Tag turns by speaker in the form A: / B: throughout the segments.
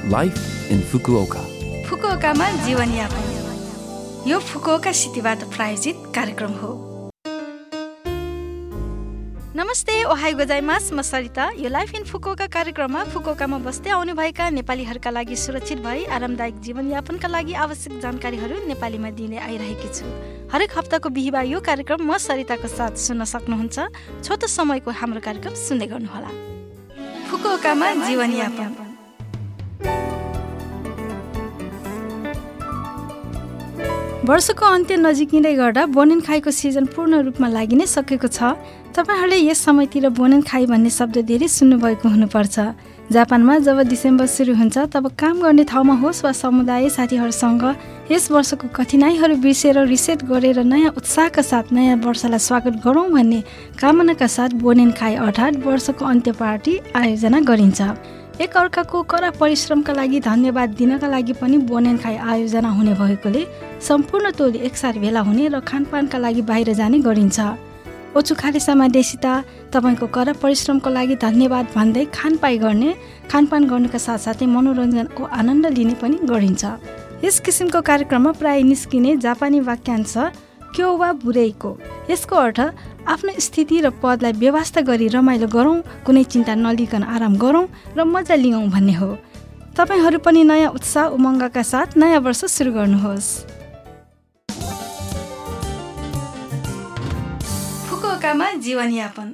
A: Life in Fukuoka.
B: फुकुओकामा जीवनयापन यो Fukuoka सिटीबाट प्रायोजित कार्यक्रम हो। नमस्ते, ओहाई गोजाइमास, म सरिता। यो लाइफ इन फुकुओका कार्यक्रममा फुकुओकामा बस्दै आउनुभएका नेपालीहरूका लागि सुरक्षित भई आरामदायक जीवनयापनका लागि आवश्यक जानकारीहरू नेपालीमा दिने आइरहेकी छु। हरेक हप्ताको बिहिबार यो कार्यक्रम म सरिताको साथ सुन्न सक्नुहुन्छ। छोटो समयको हाम्रो कार्यक्रम सुन्दै गर्नुहोला। फुकुओकामा जीवनयापन। वर्षको अन्त्य नजिकिँदै गर्दा बोनेनखाईको सिजन पूर्ण रूपमा लागि नै सकेको छ। तपाईहरूले यस समयतिर बोनेनखाई भन्ने शब्द धेरै सुन्नुभएको हुनुपर्छ। जापानमा जब डिसेम्बर सुरु हुन्छ तब काम गर्ने ठाउँमा होस् वा समुदाय साथीहरूसँग यस वर्षको कठिनाइहरू बिर्सेर रिसेट गरेर नयाँ उत्साहका साथ नयाँ वर्षलाई स्वागत गरौँ भन्ने कामनाका साथ बोनेनखाई अर्थात् वर्षको अन्त्य पार्टी आयोजना गरिन्छ। एक अर्काको कडा परिश्रमका लागि धन्यवाद दिनका लागि पनि बोनेनखाई आयोजना हुने भएकोले सम्पूर्ण टोली एकसाथ भेला हुने र खानपानका लागि बाहिर जाने गरिन्छ। ओछुखालेसामा देशिता तपाईँको कडा परिश्रमको लागि धन्यवाद भन्दै खानपान गर्नुका साथसाथै मनोरञ्जनको आनन्द लिने पनि गरिन्छ। यस किसिमको कार्यक्रममा प्राय निस्किने जापानी वाक्यांश क्यो वा बुरेइको। यसको अर्थ आफ्नो स्थिति र पदलाई व्यवस्था गरी रमाइलो गरौँ, कुनै चिन्ता नलिकन आराम गरौँ र मजा लियौँ भन्ने हो। तपाईहरू पनि नयाँ उत्साह उमङ्गका साथ नयाँ वर्ष सुरु गर्नुहोस्। फुकुओकामा जीवनयापन।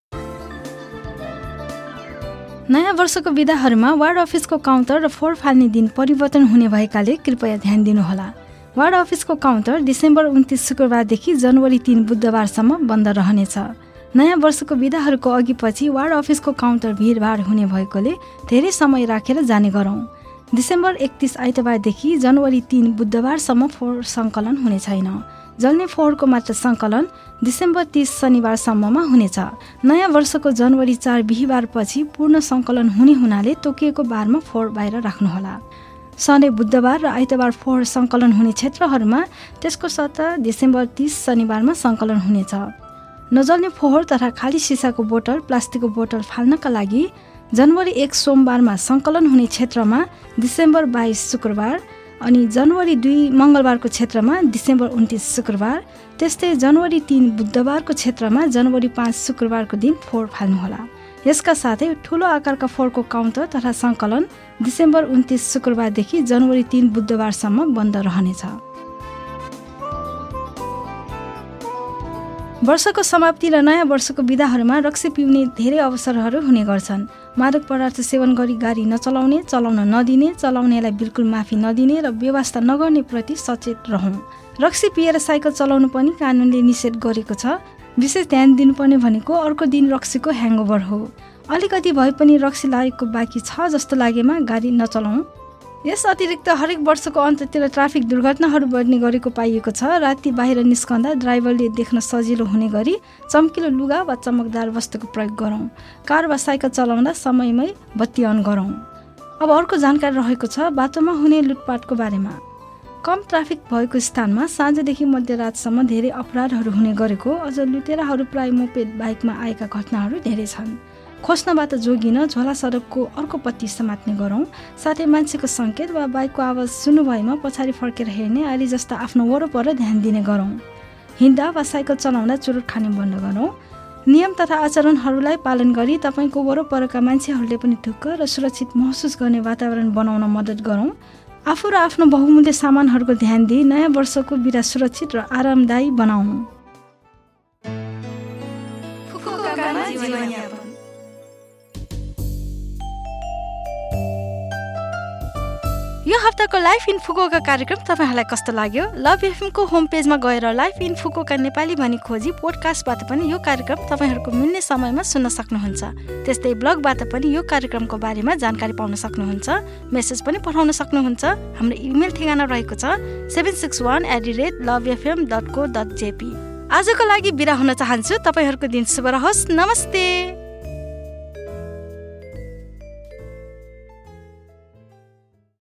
B: नयाँ वर्षको बिदाहरूमा वार्ड अफिसको काउन्टर र फोहोर फाल्ने दिन परिवर्तन हुने भएकाले कृपया ध्यान दिनुहोला। वार्ड अफिसको काउन्टर डिसेम्बर 29 शुक्रबारदेखि जनवरी 3 बुधबारसम्म बन्द रहनेछ। नयाँ वर्षको बिदाहरूको अघिपछि वार्ड अफिसको काउन्टर भिडभाड हुने भएकोले धेरै समय राखेर जाने गरौँ। डिसेम्बर 31 आइतबारदेखि जनवरी 3 बुधबारसम्म फोहोर सङ्कलन हुने छैन। जल्ने फोहोरको मात्र सङ्कलन डिसेम्बर 30 शनिबारसम्ममा हुनेछ। नयाँ वर्षको जनवरी 4 बिहिबारपछि पूर्ण सङ्कलन हुने हुनाले तोकिएको बारमा फोहोर बाहिर राख्नुहोला। सधैँ बुधबार र आइतबार फोहोर सङ्कलन हुने क्षेत्रहरूमा त्यसको सट्टा डिसेम्बर 30 शनिबारमा सङ्कलन हुनेछ। नजल्ने फोहोर तथा खाली सिसाको बोतल, प्लास्टिकको बोतल फाल्नका लागि जनवरी 1 सोमबारमा सङ्कलन हुने क्षेत्रमा डिसेम्बर 22 शुक्रबार अनि जनवरी 2 मङ्गलबारको क्षेत्रमा डिसेम्बर 29 शुक्रबार, त्यस्तै जनवरी 3 बुधबारको क्षेत्रमा जनवरी 5 शुक्रबारको दिन फोहोर फाल्नुहोला। यसका साथै ठुलो आकारका फोहोरको काउन्टर तथा सङ्कलन डिसेम्बर 29 शुक्रबारदेखि जनवरी 3 बुधबारसम्म बन्द रहनेछ। वर्षको समाप्ति र नयाँ वर्षको बिदाहरूमा रक्सी पिउने धेरै अवसरहरू हुने गर्छन्। मादक पदार्थ सेवन गरी गाडी नचलाउने, चलाउन नदिने, चलाउनेलाई बिल्कुल माफी नदिने र व्यवस्था नगर्ने प्रति सचेत रहौँ। रक्सी पिएर साइकल चलाउनु पनि कानुनले निषेध गरेको छ। विशेष ध्यान दिनुपर्ने भनेको अर्को दिन रक्सीको ह्याङओभर हो। अलिकति भए पनि रक्सी लागेको बाँकी छ जस्तो लागेमा गाडी नचलाउँ। यस अतिरिक्त हरेक वर्षको अन्ततिर ट्राफिक दुर्घटनाहरू बढ्ने गरेको पाइएको छ। राति बाहिर निस्कँदा ड्राइभरले देख्न सजिलो हुने गरी चम्किलो लुगा वा चमकदार वस्तुको प्रयोग गरौँ। कार वा साइकल चलाउँदा समयमै बत्ती अन गरौँ। अब अर्को जानकारी रहेको छ बाटोमा हुने लुटपाटको बारेमा। कम ट्राफिक भएको स्थानमा साँझदेखि मध्यरातसम्म धेरै अपराधहरू हुने गरेको, अझ लुटेराहरू प्राय मोपेड बाइकमा आएका घटनाहरू धेरै छन्। खोज्नबाट जोगिन झोला सडकको अर्कोपट्टि समात्ने गरौँ। साथै मान्छेको सङ्केत वा बाइकको आवाज सुन्नुभएमा पछाडि फर्केर हेर्ने आदि जस्ता आफ्नो वरपर ध्यान दिने गरौँ। हिँड्दा वा साइकल चलाउँदा चुरोट खाने बन्द गरौँ। नियम तथा आचरणहरूलाई पालन गरी तपाईँको वरपरका मान्छेहरूले पनि ढुक्क र सुरक्षित महसुस गर्ने वातावरण बनाउन मद्दत गरौँ। आफू र आफ्नो बहुमूल्य सामानहरूको ध्यान दिई नयाँ वर्षको बिदा सुरक्षित र आरामदायी बनाऊ। यो हप्ताको लाइफ इन फुकुओका कार्यक्रम तपाईँहरूलाई कस्तो लाग्यो? लभ एफएमको होम पेजमा गएर लाइफ इन फुकुओका नेपाली भनी खोजी पोडकास्टबाट पनि यो कार्यक्रम तपाईँहरूको मिल्ने समयमा सुन्न सक्नुहुन्छ। त्यस्तै ब्लगबाट पनि यो कार्यक्रमको बारेमा जानकारी पाउन सक्नुहुन्छ। मेसेज पनि पठाउन सक्नुहुन्छ। हाम्रो इमेल ठेगाना रहेको छ 761@lovefm.co.jp। आजको लागि बिदा हुन चाहन्छु। तपाईँहरूको दिन शुभ रहोस्। नमस्ते।